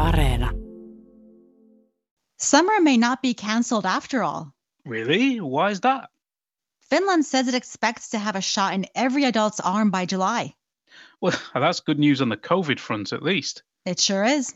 Areena. Summer may not be cancelled after all. Really? Why is that? Finland says it expects to have a shot in every adult's arm by July. Well, that's good news on the COVID front, at least. It sure is.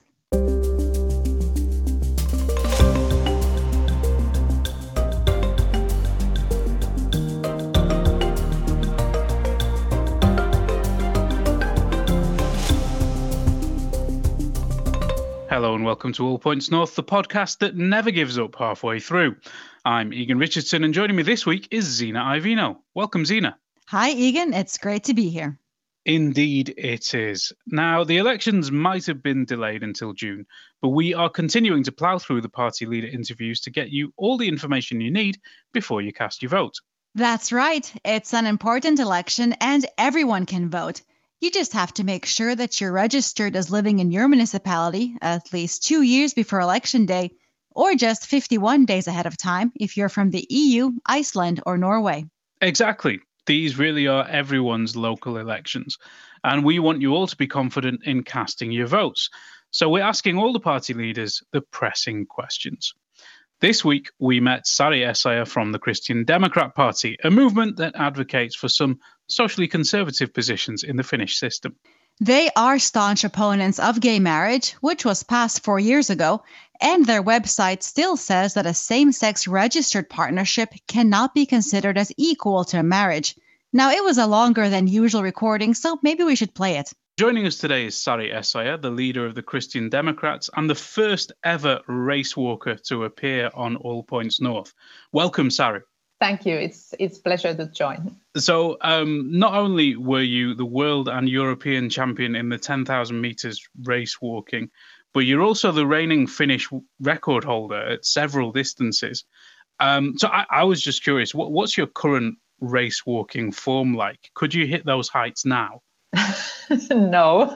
Hello and welcome to All Points North, the podcast that never gives up halfway through. I'm Egan Richardson and joining me this week is Zina Ivino. Welcome, Zina. Hi, Egan. It's great to be here. Indeed it is. Now, the elections might have been delayed until June, but we are continuing to plough through the party leader interviews to get you all the information you need before you cast your vote. That's right. It's an important election and everyone can vote. You just have to make sure that you're registered as living in your municipality at least 2 years before Election Day, or just 51 days ahead of time if you're from the EU, Iceland, or Norway. Exactly. These really are everyone's local elections, and we want you all to be confident in casting your votes. So we're asking all the party leaders the pressing questions. This week, we met Sari Essayah from the Christian Democrat Party, a movement that advocates for some socially conservative positions in the Finnish system. They are staunch opponents of gay marriage, which was passed 4 years ago, and their website still says that a same-sex registered partnership cannot be considered as equal to a marriage. Now, it was a longer than usual recording, so maybe we should play it. Joining us today is Sari Essayah, the leader of the Christian Democrats and the first ever race walker to appear on All Points North. Welcome, Sari. Thank you. It's a pleasure to join. So not only were you the world and European champion in the 10,000 meters race walking, but you're also the reigning Finnish record holder at several distances. So I was just curious, what's your current race walking form like? Could you hit those heights now? No,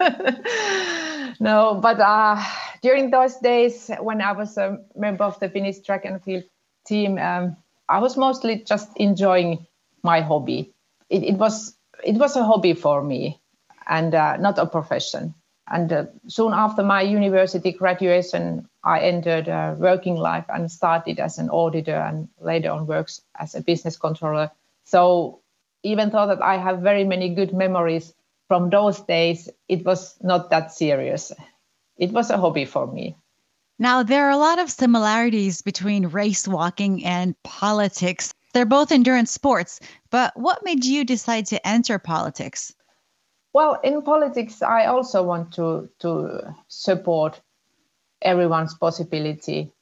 but during those days when I was a member of the Finnish track and field team, I was mostly just enjoying my hobby. It was a hobby for me and not a profession. And soon after my university graduation, I entered working life and started as an auditor and later on works as a business controller. So even though that I have very many good memories from those days, it was not that serious. It was a hobby for me. Now, there are a lot of similarities between race walking and politics. They're both endurance sports, but what made you decide to enter politics? Well, in politics, I also want to support everyone's possibility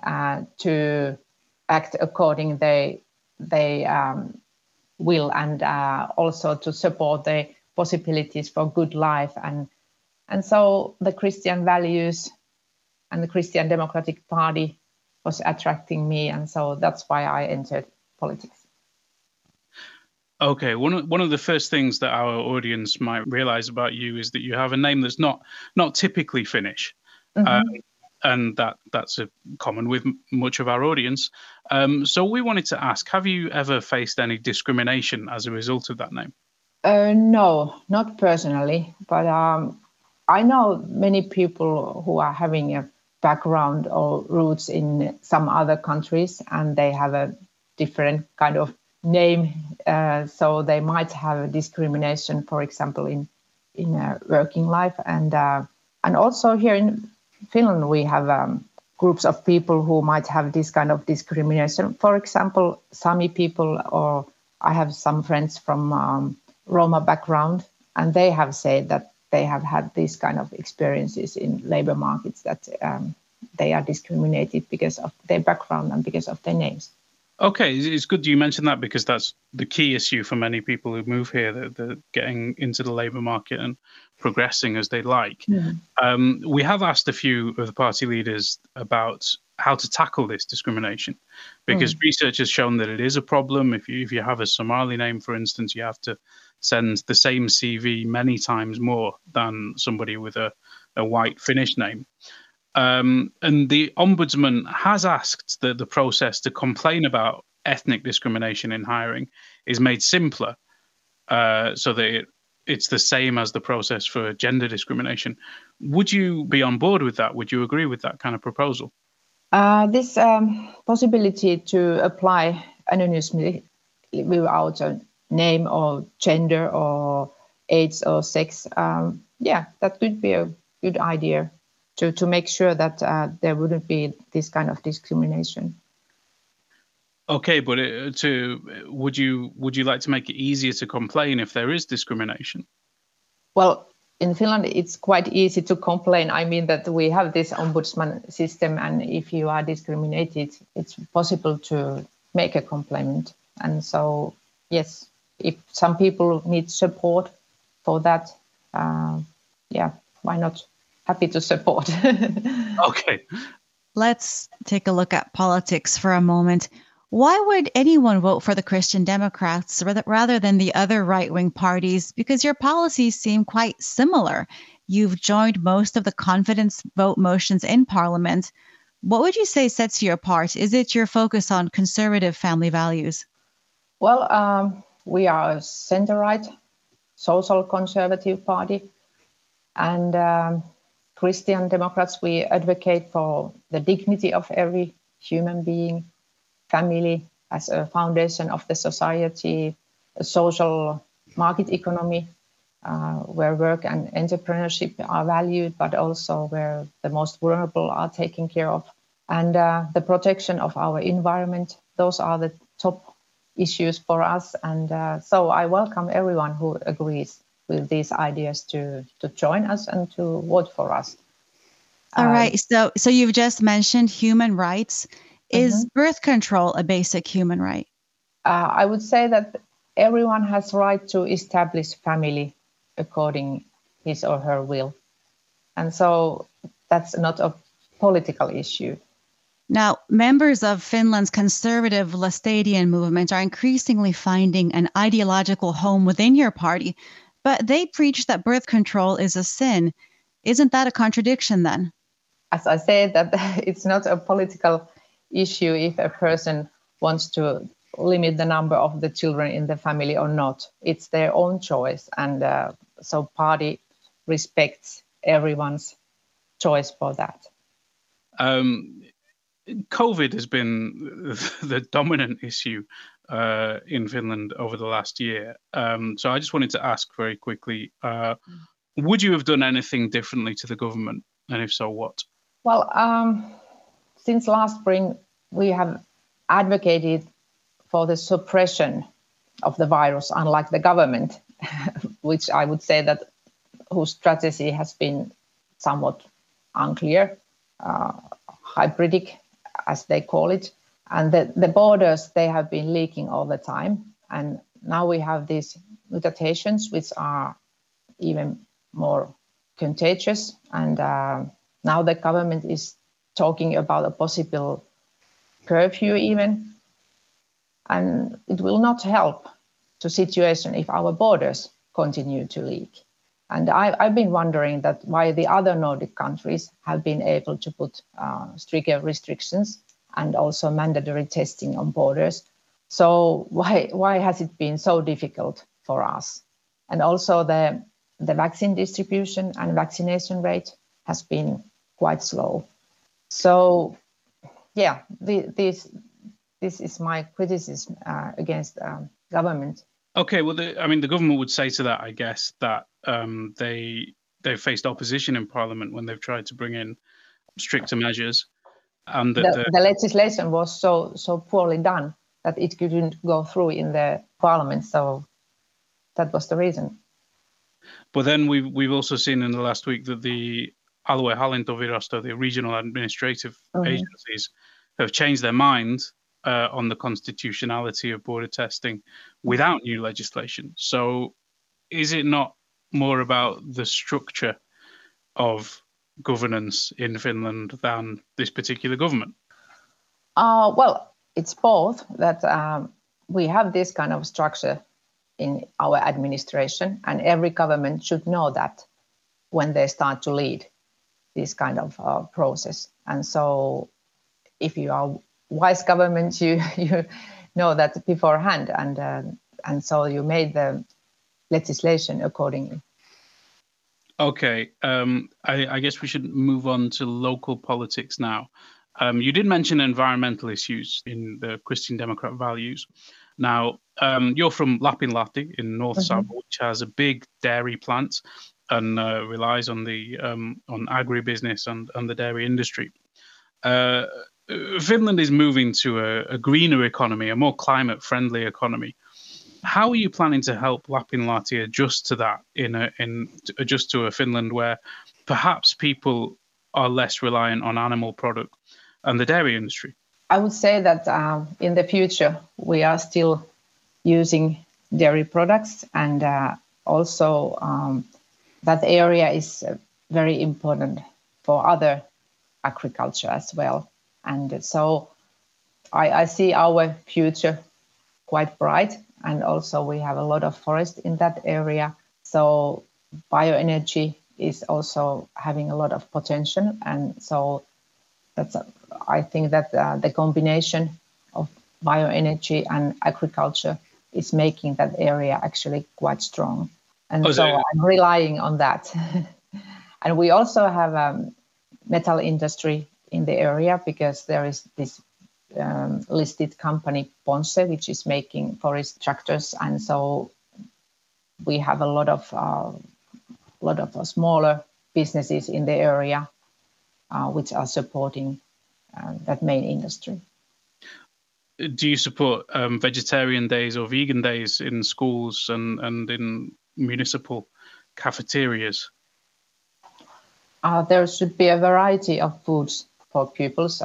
to act according they will, and also to support the possibilities for good life. And so the Christian values and the Christian Democratic Party was attracting me. And so that's why I entered politics. Okay, one of the first things that our audience might realize about you is that you have a name that's not typically Finnish. Mm-hmm. And that's a common with much of our audience. So we wanted to ask, have you ever faced any discrimination as a result of that name? No, not personally, but I know many people who are having a background or roots in some other countries, and they have a different kind of name, so they might have discrimination, for example, in working life, and also here in Finland we have groups of people who might have this kind of discrimination. For example, Sami people, or I have some friends from Roma background, and they have said that they have had these kind of experiences in labor markets, that they are discriminated because of their background and because of their names. Okay, it's good you mentioned that, because that's the key issue for many people who move here, that they're getting into the labour market and progressing as they like. Mm-hmm. We have asked a few of the party leaders about how to tackle this discrimination, because research has shown that it is a problem. If you have a Somali name, for instance, you have to send the same CV many times more than somebody with a white Finnish name. And the Ombudsman has asked that the process to complain about ethnic discrimination in hiring is made simpler, so that it's the same as the process for gender discrimination. Would you be on board with that? Would you agree with that kind of proposal? This possibility to apply anonymously without a name or gender or age or sex, that could be a good idea to make sure that there wouldn't be this kind of discrimination. Okay, but would you like to make it easier to complain if there is discrimination? Well, in Finland, it's quite easy to complain. I mean that we have this ombudsman system, and if you are discriminated, it's possible to make a complaint. And so, yes, if some people need support for that, why not? Happy to support. Okay. Let's take a look at politics for a moment. Why would anyone vote for the Christian Democrats rather than the other right-wing parties? Because your policies seem quite similar. You've joined most of the confidence vote motions in Parliament. What would you say sets you apart? Is it your focus on conservative family values? Well, we are a center-right, social conservative party. And Christian Democrats, we advocate for the dignity of every human being, family as a foundation of the society, a social market economy where work and entrepreneurship are valued, but also where the most vulnerable are taken care of. And the protection of our environment, those are the top issues for us. And so I welcome everyone who agrees with these ideas to join us and to vote for us. All right. So you've just mentioned human rights. Is birth control a basic human right? I would say that everyone has right to establish family according his or her will. And so that's not a political issue. Now, members of Finland's conservative Lestadian movement are increasingly finding an ideological home within your party, but they preach that birth control is a sin. Isn't that a contradiction then? As I said, that it's not a political issue if a person wants to limit the number of the children in the family or not. It's their own choice. And so party respects everyone's choice for that. COVID has been the dominant issue in Finland over the last year. So I just wanted to ask very quickly, would you have done anything differently to the government? And if so, what? Well, since last spring, we have advocated for the suppression of the virus, unlike the government, which I would say that whose strategy has been somewhat unclear, hybridic, as they call it. And the borders, they have been leaking all the time. And now we have these mutations, which are even more contagious. And now the government is talking about a possible curfew even. And it will not help the situation if our borders continue to leak. And I've been wondering that why the other Nordic countries have been able to put stricter restrictions and also mandatory testing on borders. So why has it been so difficult for us? And also the vaccine distribution and vaccination rate has been quite slow. So yeah, this is my criticism against government. Okay, well, the government would say to that, I guess, that they've faced opposition in Parliament when they've tried to bring in stricter measures, and that the legislation was so poorly done that it couldn't go through in the Parliament. So that was the reason. But then we've also seen in the last week that the Aluehallintovirasto, the regional administrative agencies, have changed their mind on the constitutionality of border testing without new legislation. So is it not more about the structure of governance in Finland than this particular government? Well, it's both, that we have this kind of structure in our administration, and every government should know that when they start to lead this kind of process. And so if you are wise government, you know that beforehand, and so you made the legislation accordingly. Okay, I guess we should move on to local politics now. You did mention environmental issues in the Christian Democrat values. Now, you're from Lapinlahti in North Savo, which has a big dairy plant and relies on the on agribusiness and the dairy industry. Finland is moving to a greener economy, a more climate-friendly economy. How are you planning to help Lapinlahti adjust to that adjust to a Finland where perhaps people are less reliant on animal product and the dairy industry? I would say that in the future we are still using dairy products, and also that area is very important for other agriculture as well. And so I see our future quite bright. And also we have a lot of forest in that area. So bioenergy is also having a lot of potential. And so I think that the combination of bioenergy and agriculture is making that area actually quite strong. And I'm relying on that. And we also have a metal industry in the area, because there is this listed company Ponsse, which is making forest tractors, and so we have a lot of smaller businesses in the area which are supporting that main industry. Do you support vegetarian days or vegan days in schools and in municipal cafeterias? There should be a variety of foods for pupils.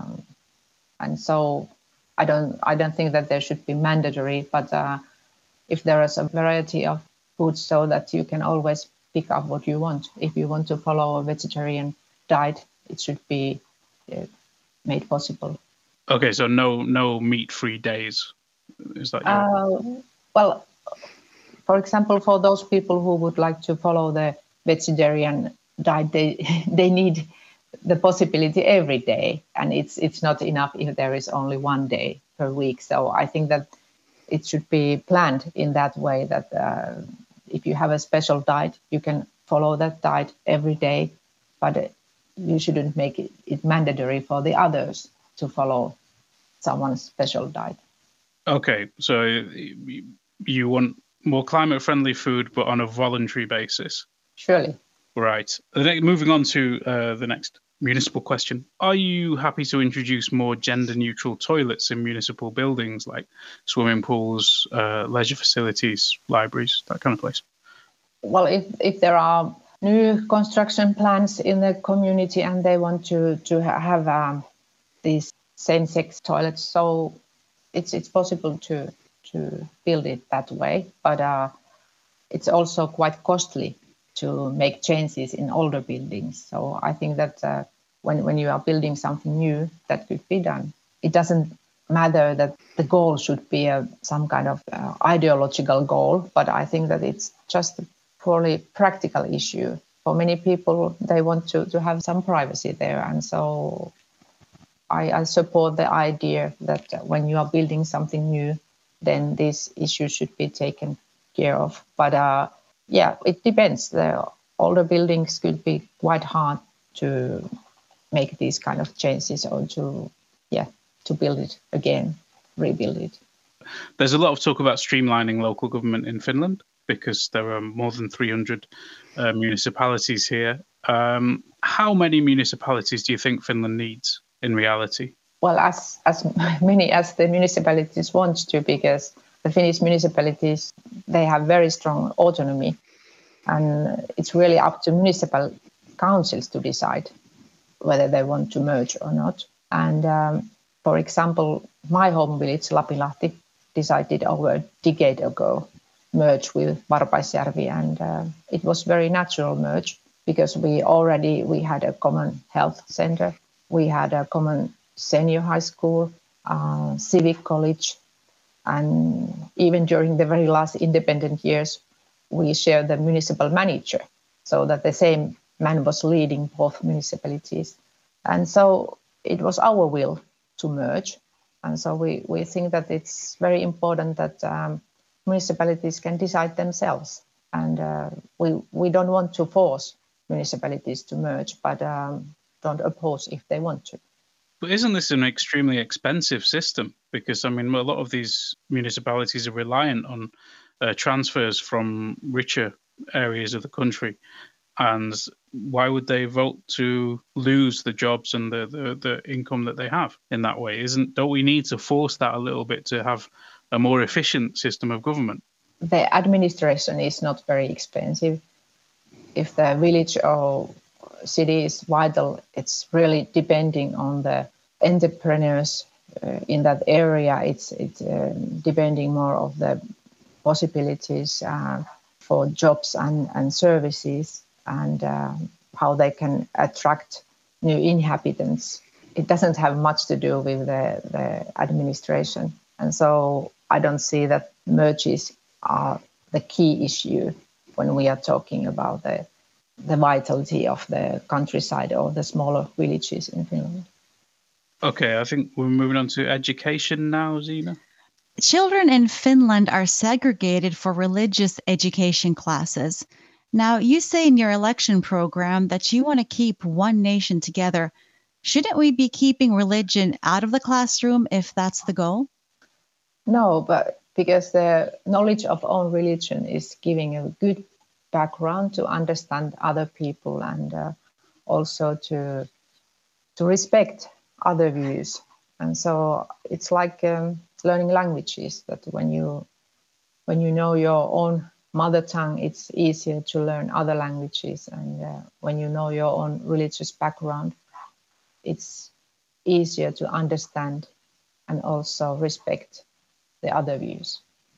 And so I don't think that there should be mandatory, but if there is a variety of foods, so that you can always pick up what you want. If you want to follow a vegetarian diet, it should be made possible. Okay, so no meat-free days. Is that well, for example, for those people who would like to follow the vegetarian diet, they need the possibility every day, and it's not enough if there is only one day per week. So I think that it should be planned in that way, that if you have a special diet, you can follow that diet every day, but you shouldn't make it mandatory for the others to follow someone's special diet. Okay, so you want more climate-friendly food, but on a voluntary basis? Surely. Right. Moving on to the next municipal question. Are you happy to introduce more gender-neutral toilets in municipal buildings, like swimming pools, leisure facilities, libraries, that kind of place? Well, if there are new construction plans in the community and they want to have these same-sex toilets, so it's possible to build it that way, but it's also quite costly to make changes in older buildings. So I think that when you are building something new, that could be done. It doesn't matter that the goal should be some kind of ideological goal, but I think that it's just a purely practical issue. For many people, they want to have some privacy there. And so I support the idea that when you are building something new, then this issue should be taken care of. But yeah, it depends. The older buildings could be quite hard to make these kind of changes, or to build it again, rebuild it. There's a lot of talk about streamlining local government in Finland, because there are more than 300 municipalities here. How many municipalities do you think Finland needs in reality? Well, as many as the municipalities want to, because the Finnish municipalities, they have very strong autonomy, and it's really up to municipal councils to decide whether they want to merge or not. And for example, my home village, Lapinlahti, decided over a decade ago merge with Varpaisjärvi, and it was very natural merge, because we had a common health center, we had a common senior high school, civic college, and even during the very last independent years, we shared the municipal manager, so that the same man was leading both municipalities. And so it was our will to merge. And so we think that it's very important that municipalities can decide themselves. And we don't want to force municipalities to merge, but don't oppose if they want to. But isn't this an extremely expensive system? Because, I mean, a lot of these municipalities are reliant on transfers from richer areas of the country. And why would they vote to lose the jobs and the income that they have in that way? Don't we need to force that a little bit to have a more efficient system of government? The administration is not very expensive. If the village or city is vital, it's really depending on the entrepreneurs in that area. It's depending more of the possibilities for jobs and services, and how they can attract new inhabitants. It doesn't have much to do with the administration. And so I don't see that merges are the key issue when we are talking about the vitality of the countryside or the smaller villages in Finland. Okay, I think we're moving on to education now, Zena. Children in Finland are segregated for religious education classes. Now, you say in your election program that you want to keep one nation together. Shouldn't we be keeping religion out of the classroom if that's the goal? No, but because the knowledge of own religion is giving a good background to understand other people and also to respect other views. And so it's like learning languages, that when you know your own mother tongue, it's easier to learn other languages. And when you know your own religious background, it's easier to understand and also respect the other views.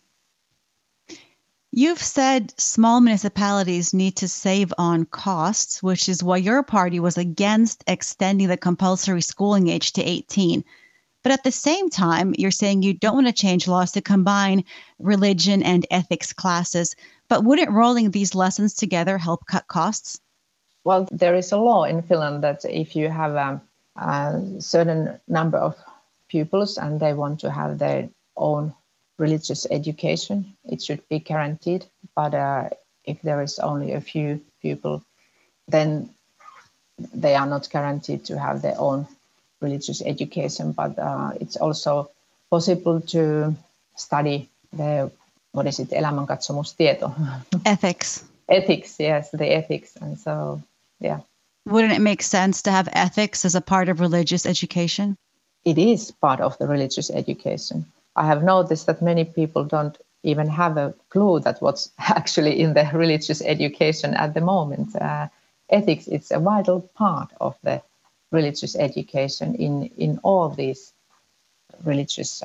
You've said small municipalities need to save on costs, which is why your party was against extending the compulsory schooling age to 18. But at the same time, you're saying you don't want to change laws to combine religion and ethics classes. But wouldn't rolling these lessons together help cut costs? Well, there is a law in Finland that if you have a certain number of pupils and they want to have their own religious education, it should be guaranteed. But if there is only a few people, then they are not guaranteed to have their own religious education. But it's also possible to study elämänkatsomustieto? Ethics. Ethics, yes, the ethics. And so, yeah. Wouldn't it make sense to have ethics as a part of religious education? It is part of the religious education. I have noticed that many people don't even have a clue that what's actually in the religious education at the moment. Ethics is a vital part of the religious education in all these religious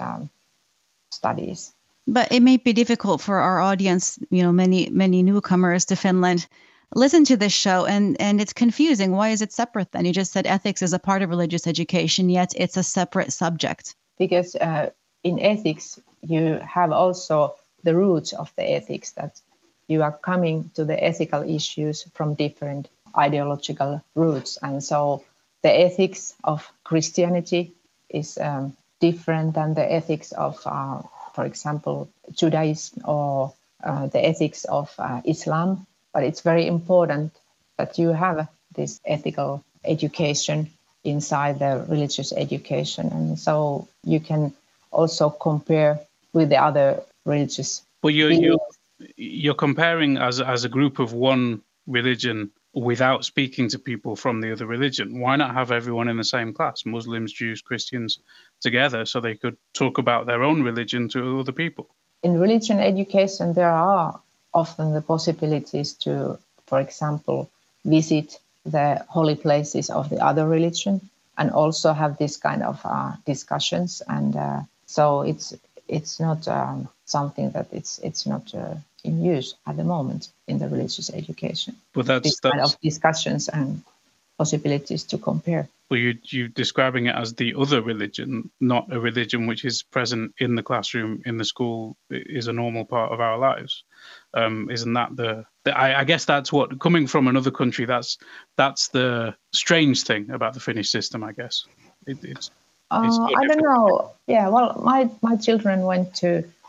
studies. But it may be difficult for our audience, many newcomers to Finland, listen to this show and it's confusing. Why is it separate then? You just said ethics is a part of religious education, yet it's a separate subject. Because in ethics, you have also the roots of the ethics, that you are coming to the ethical issues from different ideological roots. And so the ethics of Christianity is different than the ethics of, for example, Judaism or the ethics of Islam. But it's very important that you have this ethical education inside the religious education. And so you can also compare with the other religious. Well, you're comparing as a group of one religion without speaking to people from the other religion. Why not have everyone in the same class, Muslims, Jews, Christians, together, so they could talk about their own religion to other people? In religion education, there are often the possibilities to, for example, visit the holy places of the other religion and also have this kind of discussions. And so it's not something that it's not in use at the moment in the religious education. But that's kind of discussions and possibilities to compare. Well, you're describing it as the other religion, not a religion which is present in the classroom, in the school, is a normal part of our lives. Isn't that I guess that's what, coming from another country, that's the strange thing about the Finnish system, I guess. It's I don't know. Yeah, well, my children went to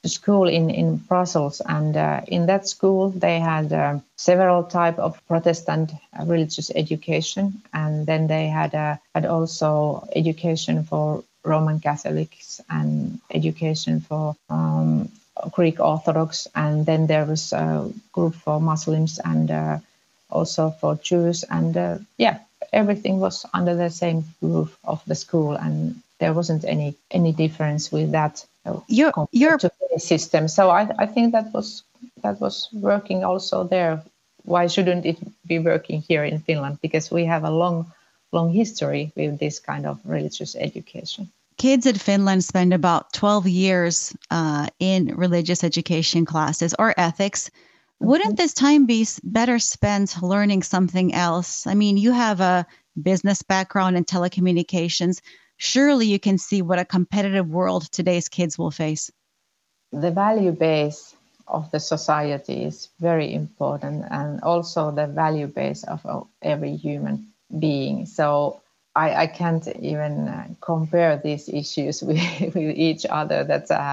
school in Brussels, and in that school they had several type of Protestant religious education, and then they had also education for Roman Catholics and education for Greek Orthodox, and then there was a group for Muslims and also for Jews, and everything was under the same roof of the school, and there wasn't any difference with that. Your system. So I think that was working also there. Why shouldn't it be working here in Finland? Because we have a long history with this kind of religious education. Kids in Finland spend about 12 years in religious education classes or ethics. Wouldn't this time be better spent learning something else? I mean, you have a business background in telecommunications. Surely you can see what a competitive world today's kids will face. The value base of the society is very important, and also the value base of every human being. So I can't even compare these issues with each other.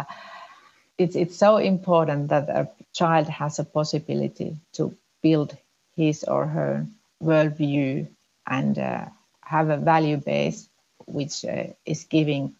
It's so important that a child has a possibility to build his or her worldview and have a value base which is giving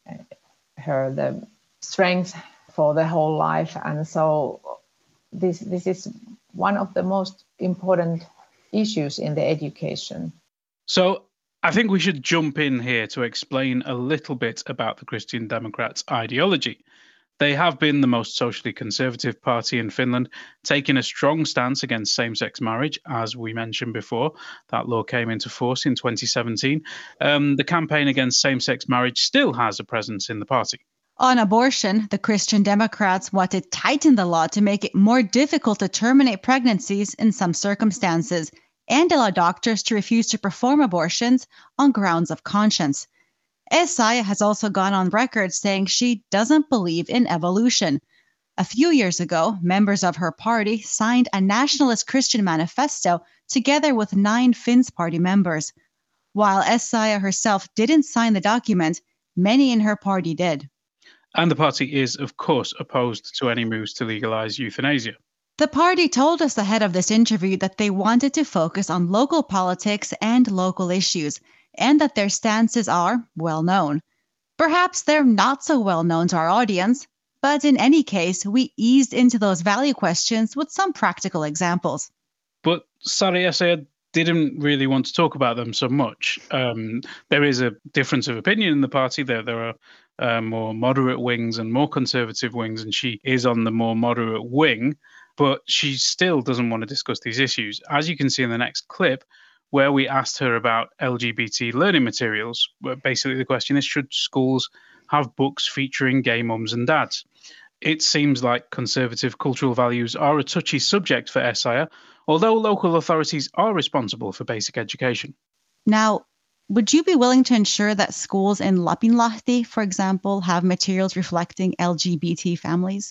her the strength for the whole life. And so this is one of the most important issues in the education. So I think we should jump in here to explain a little bit about the Christian Democrats' ideology. They have been the most socially conservative party in Finland, taking a strong stance against same-sex marriage, as we mentioned before. That law came into force in 2017. The campaign against same-sex marriage still has a presence in the party. On abortion, the Christian Democrats want to tighten the law to make it more difficult to terminate pregnancies in some circumstances and allow doctors to refuse to perform abortions on grounds of conscience. Essayah has also gone on record saying she doesn't believe in evolution. A few years ago, members of her party signed a nationalist Christian manifesto together with 9 Finns party members. While Essayah herself didn't sign the document, many in her party did. And the party is, of course, opposed to any moves to legalize euthanasia. The party told us ahead of this interview that they wanted to focus on local politics and local issues, and that their stances are well known. Perhaps they're not so well known to our audience, but in any case, we eased into those value questions with some practical examples. But Sari Essayah didn't really want to talk about them so much. There is a difference of opinion in the party. There are more moderate wings and more conservative wings, and she is on the more moderate wing, but she still doesn't want to discuss these issues. As you can see in the next clip, where we asked her about LGBT learning materials. Basically, the question is, should schools have books featuring gay mums and dads? It seems like conservative cultural values are a touchy subject for Essayah, although local authorities are responsible for basic education. Now, would you be willing to ensure that schools in Lapinlahti, for example, have materials reflecting LGBT families?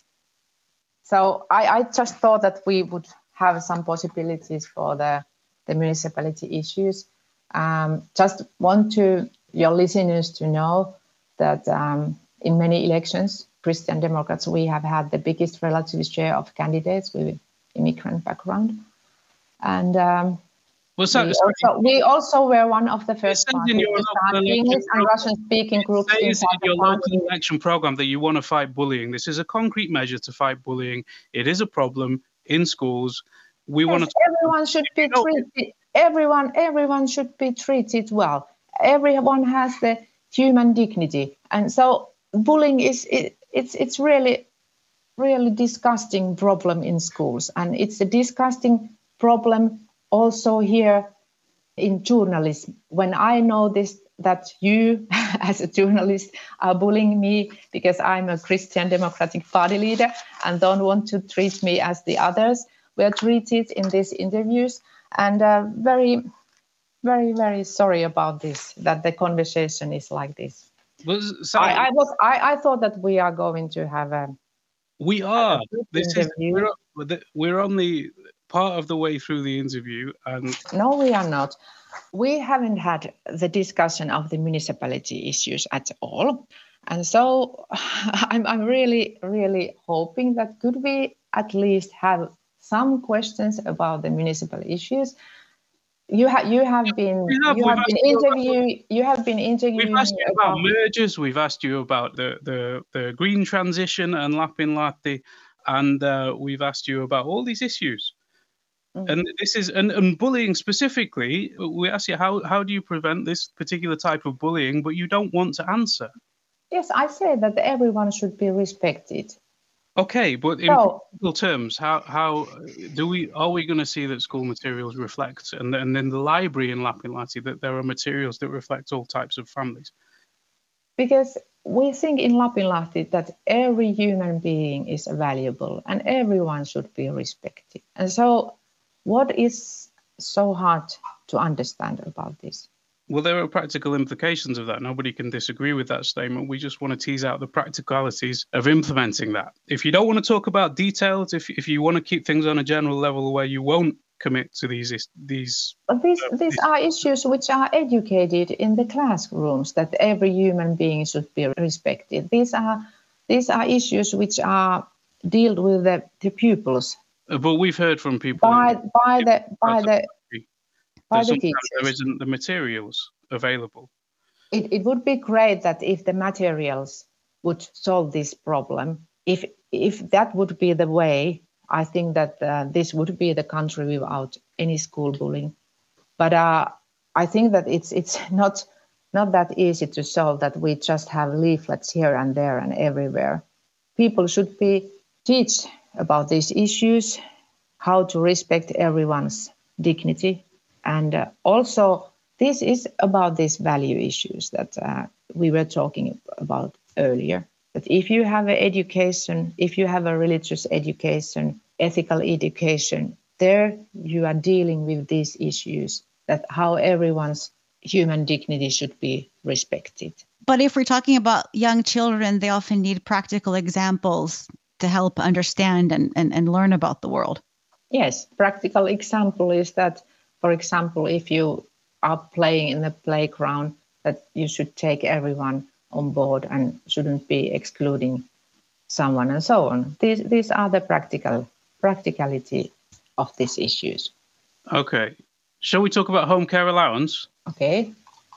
So I just thought that we would have some possibilities for the municipality issues. Just want your listeners to know that in many elections, Christian Democrats, we have had the biggest relative share of candidates with immigrant background. And we also were one of the first parties to start English and Russian-speaking groups. It says in your local election program that you want to fight bullying. This is a concrete measure to fight bullying. It is a problem in schools. Everyone should be treated. Everyone should be treated well. Everyone has the human dignity, and so bullying it's really disgusting problem in schools, and it's a disgusting problem also here in journalism. When I know that you as a journalist are bullying me because I'm a Christian Democratic Party leader and don't want to treat me as the others were treated in these interviews, and very, very, very sorry about this, that the conversation is like this. I thought that we are going to have a. We are. We're only part of the way through the interview, and no, we are not. We haven't had the discussion of the municipality issues at all, And so I'm really, really hoping that could we at least have some questions about the municipal issues. You have been interviewing. We've asked you about mergers. We've asked you about the green transition and Lapinlahti, and we've asked you about all these issues. Mm-hmm. And this is and bullying specifically. We ask you how do you prevent this particular type of bullying, but you don't want to answer. Yes, I say that everyone should be respected. Okay, but in practical terms, how are we going to see that school materials reflect, and in the library in Lapinlahti, that there are materials that reflect all types of families? Because we think in Lapinlahti that every human being is valuable and everyone should be respected. And so what is so hard to understand about this? Well, there are practical implications of that. Nobody can disagree with that statement. We just want to tease out the practicalities of implementing that. If you don't want to talk about details, if you want to keep things on a general level where you won't commit to these are issues which are educated in the classrooms, that every human being should be respected. These are issues which are dealt with the pupils. But we've heard from people by the teachers. There isn't the materials available. It would be great that if the materials would solve this problem. If that would be the way, I think that this would be the country without any school bullying. But I think that it's not that easy to solve, that we just have leaflets here and there and everywhere. People should be taught about these issues, how to respect everyone's dignity. And also, this is about these value issues that we were talking about earlier. That if you have an education, if you have a religious education, ethical education, there you are dealing with these issues, that how everyone's human dignity should be respected. But if we're talking about young children, they often need practical examples to help understand and learn about the world. Yes, practical example is that, for example, if you are playing in the playground, that you should take everyone on board and shouldn't be excluding someone and so on. These are the practicality of these issues. Okay. Shall we talk about home care allowance? Okay.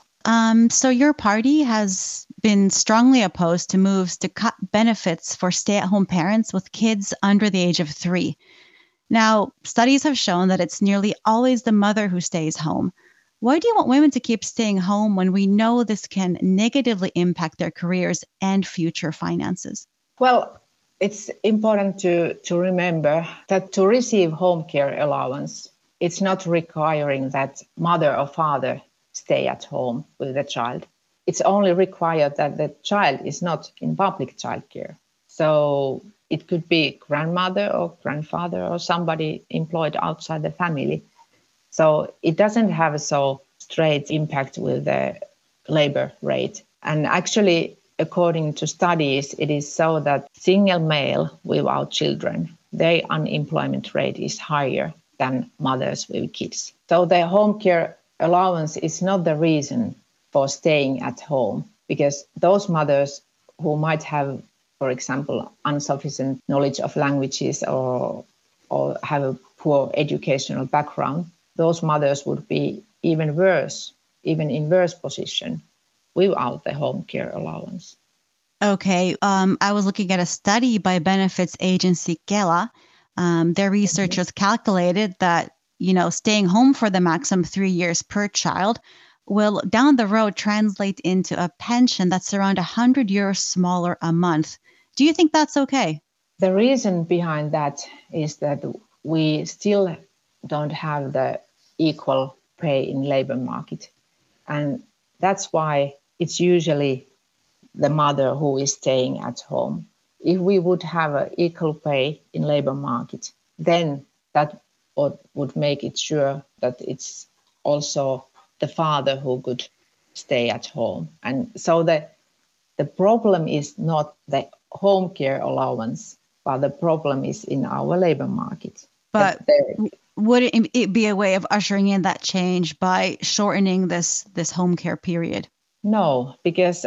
So your party has been strongly opposed to moves to cut benefits for stay-at-home parents with kids under the age of 3. Now, studies have shown that it's nearly always the mother who stays home. Why do you want women to keep staying home when we know this can negatively impact their careers and future finances? Well, it's important to remember that to receive home care allowance, it's not requiring that mother or father stay at home with the child. It's only required that the child is not in public childcare. So it could be grandmother or grandfather or somebody employed outside the family. So it doesn't have a so straight impact with the labor rate. And actually, according to studies, it is so that single male without children, their unemployment rate is higher than mothers with kids. So the home care allowance is not the reason for staying at home, because those mothers who might have, for example, insufficient knowledge of languages or have a poor educational background, those mothers would be even in worse position without the home care allowance. Okay. I was looking at a study by benefits agency Kela. Their researchers calculated that, staying home for the maximum 3 years per child will down the road translate into a pension that's around 100 euros smaller a month. Do you think that's okay? The reason behind that is that we still don't have the equal pay in labor market. And that's why it's usually the mother who is staying at home. If we would have an equal pay in labor market, then that would make it sure that it's also the father who could stay at home. And so the problem is not the home care allowance, but the problem is in our labor market. But would it be a way of ushering in that change by shortening this home care period? No, because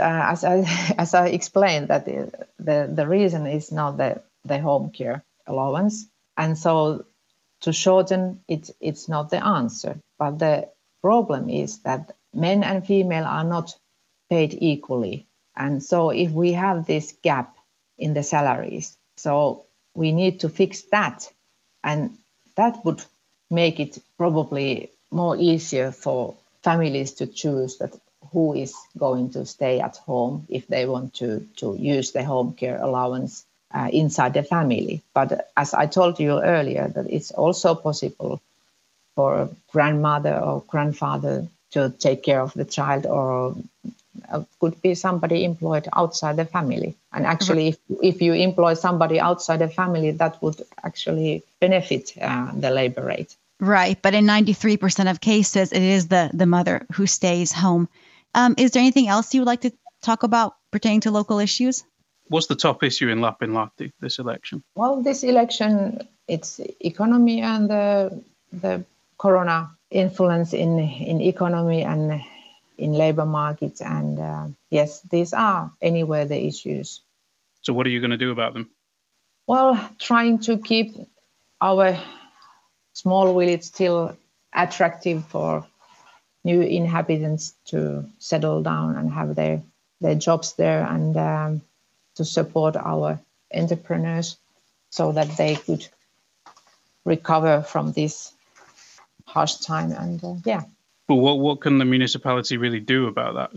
as I explained, that the reason is not the home care allowance, and so to shorten it, it's not the answer. But the problem is that men and female are not paid equally, and so if we have this gap in the salaries, so we need to fix that, and that would make it probably more easier for families to choose that who is going to stay at home if they want to use the home care allowance inside the family. But as I told you earlier, that it's also possible for a grandmother or grandfather to take care of the child, or could be somebody employed outside the family. And actually, if you employ somebody outside the family, that would actually benefit the labor rate. Right. But in 93% of cases, it is the mother who stays home. Is there anything else you would like to talk about pertaining to local issues? What's the top issue in Lapinlahti this election? Well, this election, it's economy and the corona influence in economy and in labor markets. And yes, these are anywhere the issues. So what are you going to do about them? Well, trying to keep our small village still attractive for new inhabitants to settle down and have their jobs there, and to support our entrepreneurs so that they could recover from this harsh time. And But what can the municipality really do about that?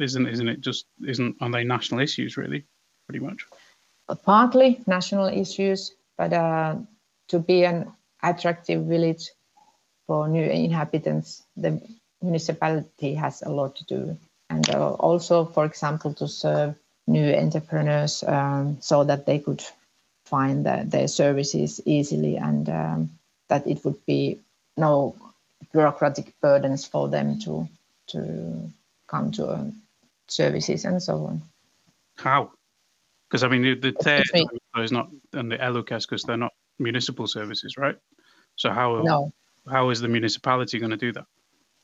Are they national issues really, pretty much? Partly national issues, but to be an attractive village for new inhabitants, the municipality has a lot to do. And also, for example, to serve new entrepreneurs so that they could find their services easily, and that it would be no bureaucratic burdens for them to come to services and so on. How? Because I mean, the TE is not, and the ELY-keskus, they're not municipal services, right? So how is the municipality going to do that?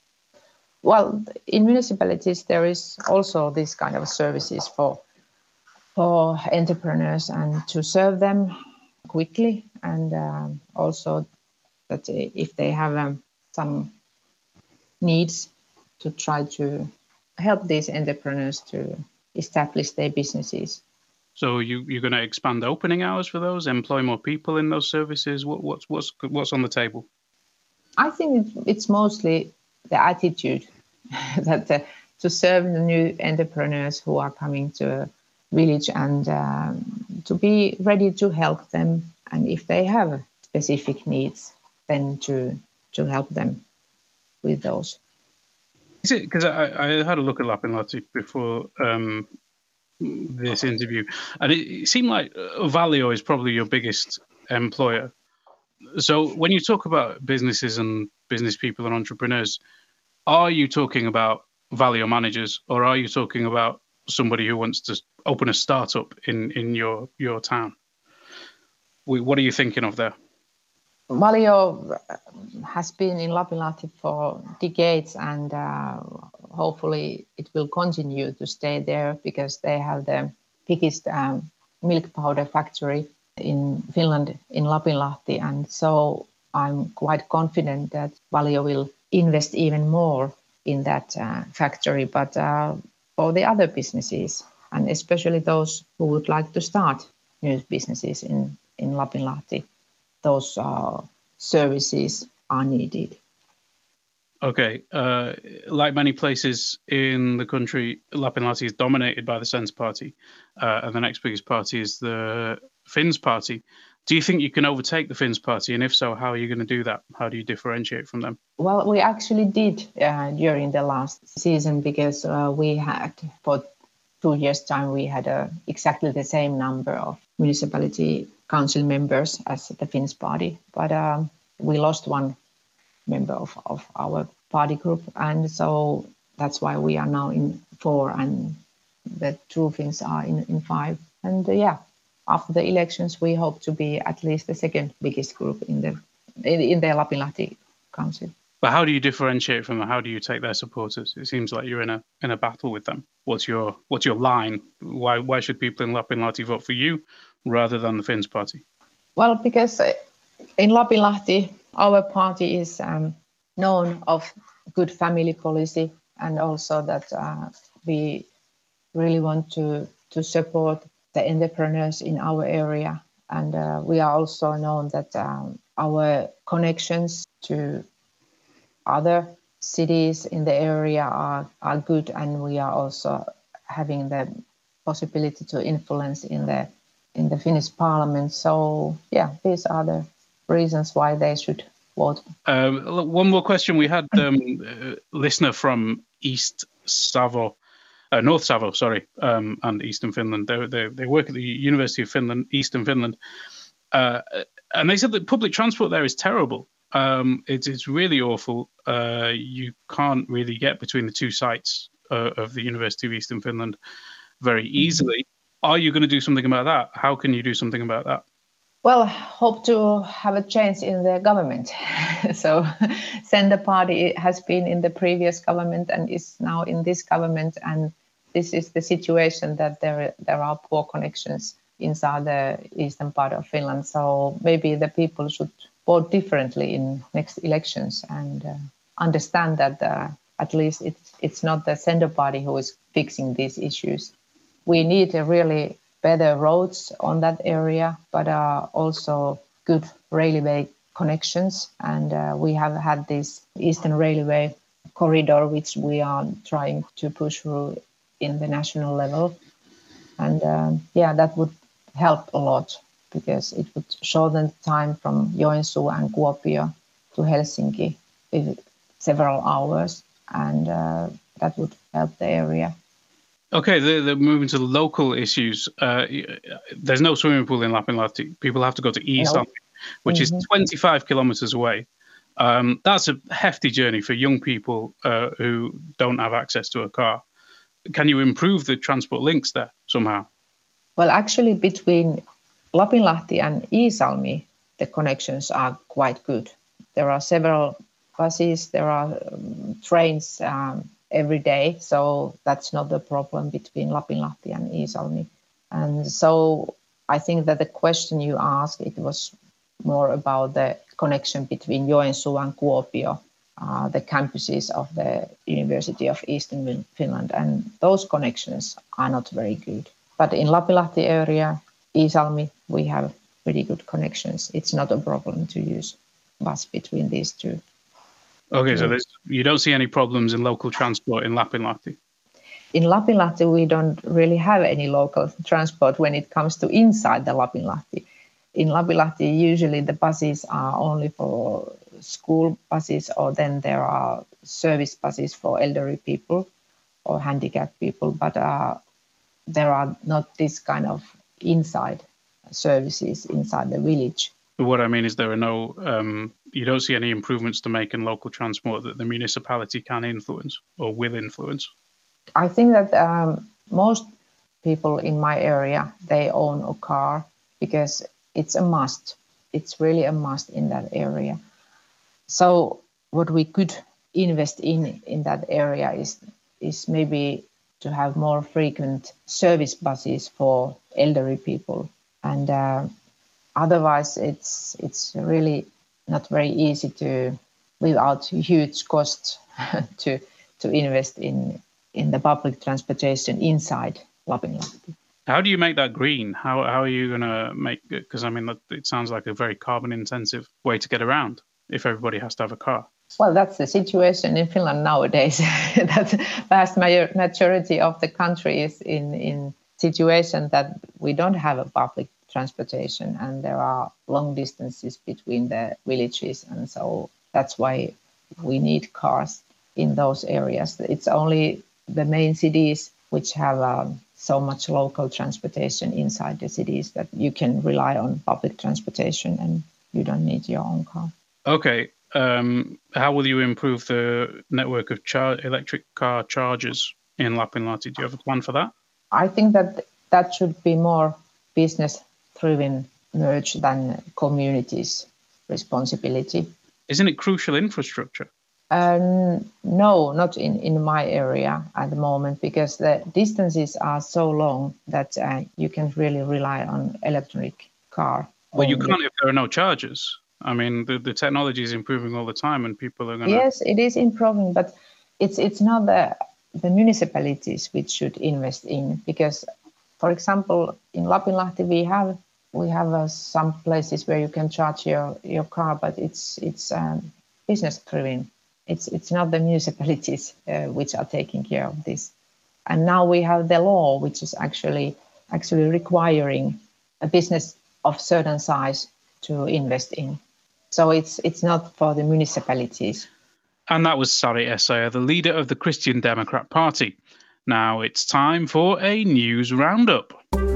Well, in municipalities there is also this kind of services for entrepreneurs, and to serve them quickly, and also that if they have some needs, to try to help these entrepreneurs to establish their businesses. So you're going to expand opening hours for those, employ more people in those services? What's on the table? I think it's mostly the attitude that to serve the new entrepreneurs who are coming to a village, and to be ready to help them, and if they have specific needs, then to help them with those. Is it because I had a look at Lapinlahti before this interview, and it seemed like Valio is probably your biggest employer. So when you talk about businesses and business people and entrepreneurs, are you talking about Valio managers, or are you talking about somebody who wants to open a startup in your town? What are you thinking of there? Valio has been in Lapinlahti for decades, and hopefully it will continue to stay there, because they have the biggest milk powder factory in Finland, in Lapinlahti. And so I'm quite confident that Valio will invest even more in that factory. But for the other businesses, and especially those who would like to start new businesses in Lapinlahti, those services are needed. Okay. Like many places in the country, Lapinlahti is dominated by the Sense Party, and the next biggest party is the Finns Party. Do you think you can overtake the Finns Party? And if so, how are you going to do that? How do you differentiate from them? Well, we actually did during the last season, because we had, for 2 years' time, we had exactly the same number of municipality council members as the Finns Party. But we lost one member of our party group. And so that's why we are now in 4, and the True Finns are in 5. And after the elections, we hope to be at least the second biggest group in the Lapinlahti council. But how do you differentiate from them? How do you take their supporters? It seems like you're in in a battle with them? What's your line? Why should people in Lapinlahti vote for you rather than the Finns party? Well, because in Lapinlahti, our party is known of good family policy, and also that we really want to support the entrepreneurs in our area. And we are also known that our connections to other cities in the area are good, and we are also having the possibility to influence in the Finnish parliament. So yeah, these are the reasons why they should vote. One more question. We had a listener from North Savo, and Eastern Finland. They work at the University of Finland, Eastern Finland, and they said that public transport there is terrible. It's really awful. You can't really get between the two sites of the University of Eastern Finland very easily. Are you going to do something about that? How can you do something about that? Well, hope to have a change in the government. So Centre Party has been in the previous government and is now in this government, and this is the situation that there are poor connections inside the eastern part of Finland. So maybe the people should vote differently in next elections and understand that at least it's not the Centre Party who is fixing these issues. We need a really better roads on that area, but also good railway connections. And we have had this Eastern Railway corridor, which we are trying to push through in the national level. And that would help a lot, because it would shorten the time from Joensuu and Kuopio to Helsinki with several hours, and that would help the area. Okay, they're moving to local issues. There's no swimming pool in Lapinlahti. People have to go to Iisalmi, which is 25 kilometers away. That's a hefty journey for young people who don't have access to a car. Can you improve the transport links there somehow? Well, actually, between Lapinlahti and Iisalmi, the connections are quite good. There are several buses, there are trains every day, so that's not the problem between Lapinlahti and Iisalmi. And so I think that the question you asked, it was more about the connection between Joensuu and Kuopio, the campuses of the University of Eastern Finland, and those connections are not very good. But in Lapinlahti area, Iisalmi, we have pretty good connections. It's not a problem to use bus between these two. Okay, so you don't see any problems in local transport in Lapinlahti? In Lapinlahti, we don't really have any local transport when it comes to inside the Lapinlahti. In Lapinlahti, usually the buses are only for school buses, or then there are service buses for elderly people or handicapped people, but there are not this kind of inside services inside the village. What I mean is there are no, you don't see any improvements to make in local transport that the municipality can influence or will influence? I think that most people in my area, they own a car because it's a must. It's really a must in that area. So what we could invest in that area is maybe to have more frequent service buses for elderly people. And otherwise, it's really not very easy to, without huge costs, to invest in the public transportation inside Lapinlahti. How do you make that green? How are you going to make it? Because I mean, it sounds like a very carbon intensive way to get around if everybody has to have a car. Well, that's the situation in Finland nowadays. That vast majority of the country is in situation that we don't have a public transportation, and there are long distances between the villages, and so that's why we need cars in those areas. It's only the main cities which have so much local transportation inside the cities that you can rely on public transportation and you don't need your own car. Okay. How will you improve the network of electric car chargers in Lapinlahti? Do you have a plan for that? I think that should be more business-driven merge than communities' responsibility. Isn't it crucial infrastructure? No, not in my area at the moment, because the distances are so long that you can really rely on electric car. Well, you can't if there are no chargers. I mean, the technology is improving all the time, and people are going to... Yes, it is improving, but it's not the municipalities which should invest in, because, for example, in Lapinlahti we have some places where you can charge your car, but it's business driven. It's not the municipalities which are taking care of this. And now we have the law which is actually requiring a business of certain size to invest in. So it's not for the municipalities. And that was Sari Essayah, the leader of the Christian Democrat Party. Now it's time for a news roundup.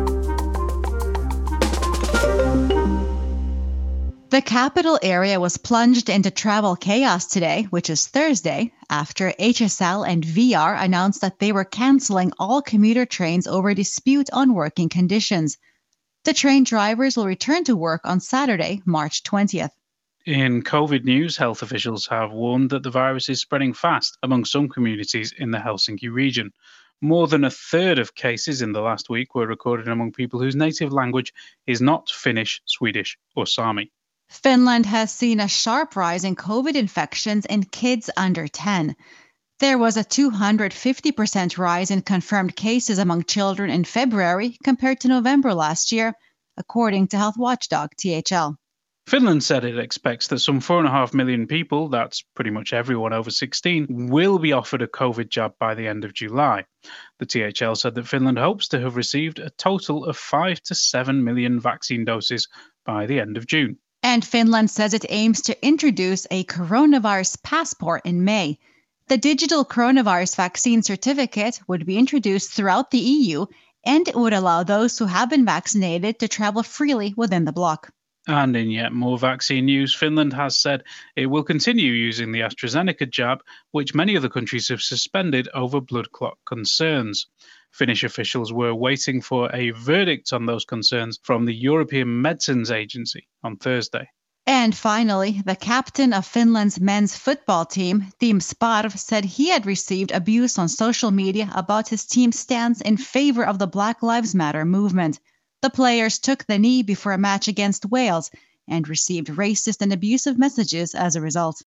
The capital area was plunged into travel chaos today, which is Thursday, after HSL and VR announced that they were cancelling all commuter trains over a dispute on working conditions. The train drivers will return to work on Saturday, March 20th. In COVID news, health officials have warned that the virus is spreading fast among some communities in the Helsinki region. More than a third of cases in the last week were recorded among people whose native language is not Finnish, Swedish, or Sami. Finland has seen a sharp rise in COVID infections in kids under 10. There was a 250% rise in confirmed cases among children in February compared to November last year, according to health watchdog THL. Finland said it expects that some 4.5 million people, that's pretty much everyone over 16, will be offered a COVID jab by the end of July. The THL said that Finland hopes to have received a total of 5 to 7 million vaccine doses by the end of June. And Finland says it aims to introduce a coronavirus passport in May. The digital coronavirus vaccine certificate would be introduced throughout the EU, and it would allow those who have been vaccinated to travel freely within the bloc. And in yet more vaccine news, Finland has said it will continue using the AstraZeneca jab, which many other countries have suspended over blood clot concerns. Finnish officials were waiting for a verdict on those concerns from the European Medicines Agency on Thursday. And finally, the captain of Finland's men's football team, Team Sparv, said he had received abuse on social media about his team's stance in favor of the Black Lives Matter movement. The players took the knee before a match against Wales and received racist and abusive messages as a result.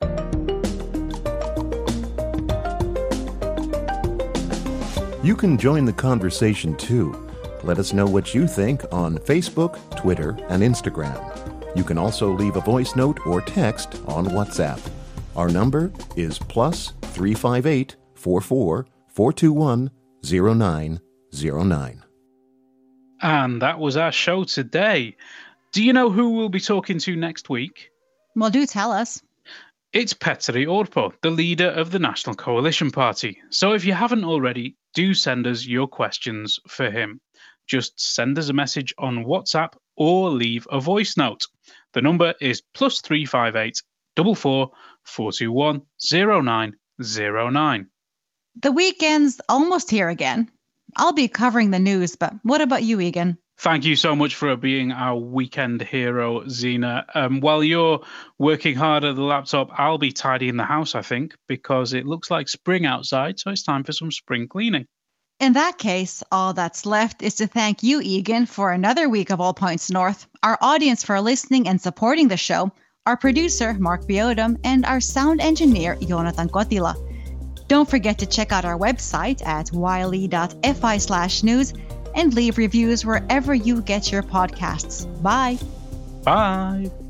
You can join the conversation too. Let us know what you think on Facebook, Twitter, and Instagram. You can also leave a voice note or text on WhatsApp. Our number is +358 44 421 0909. And that was our show today. Do you know who we'll be talking to next week? Well, do tell us. It's Petteri Orpo, the leader of the National Coalition Party. So if you haven't already, do send us your questions for him. Just send us a message on WhatsApp or leave a voice note. The number is +358 44 421 0909. The weekend's almost here again. I'll be covering the news, but what about you, Egan? Thank you so much for being our weekend hero, Zena. While you're working hard at the laptop, I'll be tidying the house, I think, because it looks like spring outside, so it's time for some spring cleaning. In that case, all that's left is to thank you, Egan, for another week of All Points North, our audience for listening and supporting the show, our producer, Mark Biodom, and our sound engineer, Jonathan Kotila. Don't forget to check out our website at yle.fi/news and leave reviews wherever you get your podcasts. Bye. Bye.